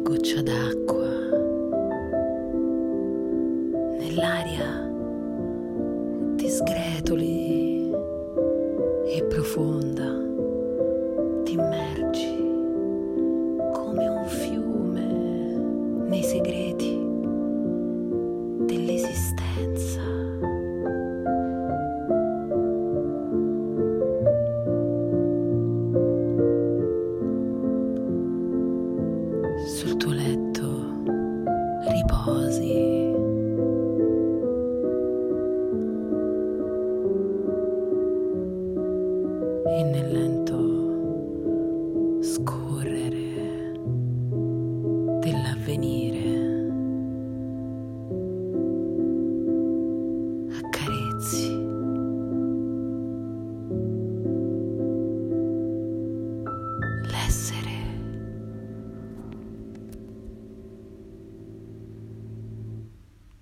goccia d'acqua nell'aria, ti sgretoli e profonda, ti immergi come un fiume nei segreti dell'esistenza. Sul tuo letto riposi e nel lento scorrere dell'avvenire